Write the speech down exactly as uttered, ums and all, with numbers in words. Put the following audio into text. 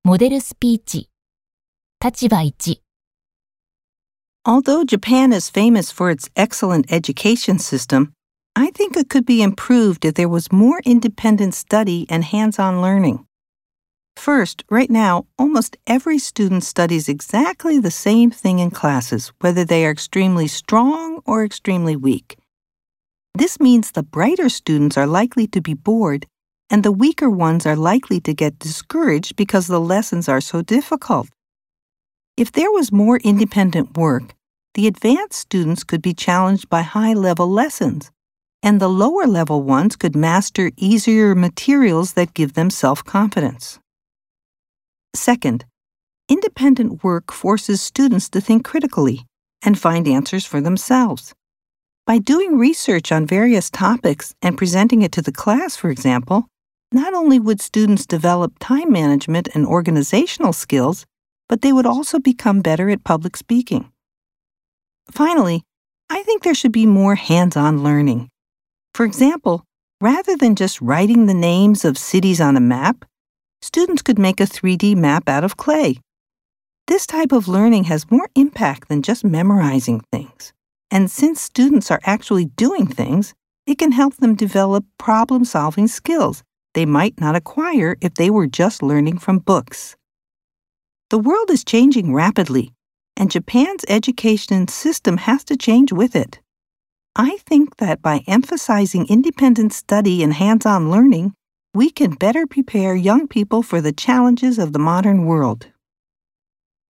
モデルスピーチ。立場いち。 Although Japan is famous for its excellent education system, I think it could be improved if there was more independent study and hands-on learning. First, right now, almost every student studies exactly the same thing in classes, whether they are extremely strong or extremely weak. This means the brighter students are likely to be bored, and the weaker ones are likely to get discouraged because the lessons are so difficult. If there was more independent work, the advanced students could be challenged by high-level lessons, and the lower-level ones could master easier materials that give them self-confidence. Second, independent work forces students to think critically and find answers for themselves. By doing research on various topics and presenting it to the class, for example, not only would students develop time management and organizational skills, but they would also become better at public speaking. Finally, I think there should be more hands-on learning. For example, rather than just writing the names of cities on a map, students could make a three D map out of clay. This type of learning has more impact than just memorizing things. And since students are actually doing things, it can help them develop problem-solving skills they might not acquire if they were just learning from books. The world is changing rapidly, and Japan's education system has to change with it. I think that by emphasizing independent study and hands-on learning, we can better prepare young people for the challenges of the modern world.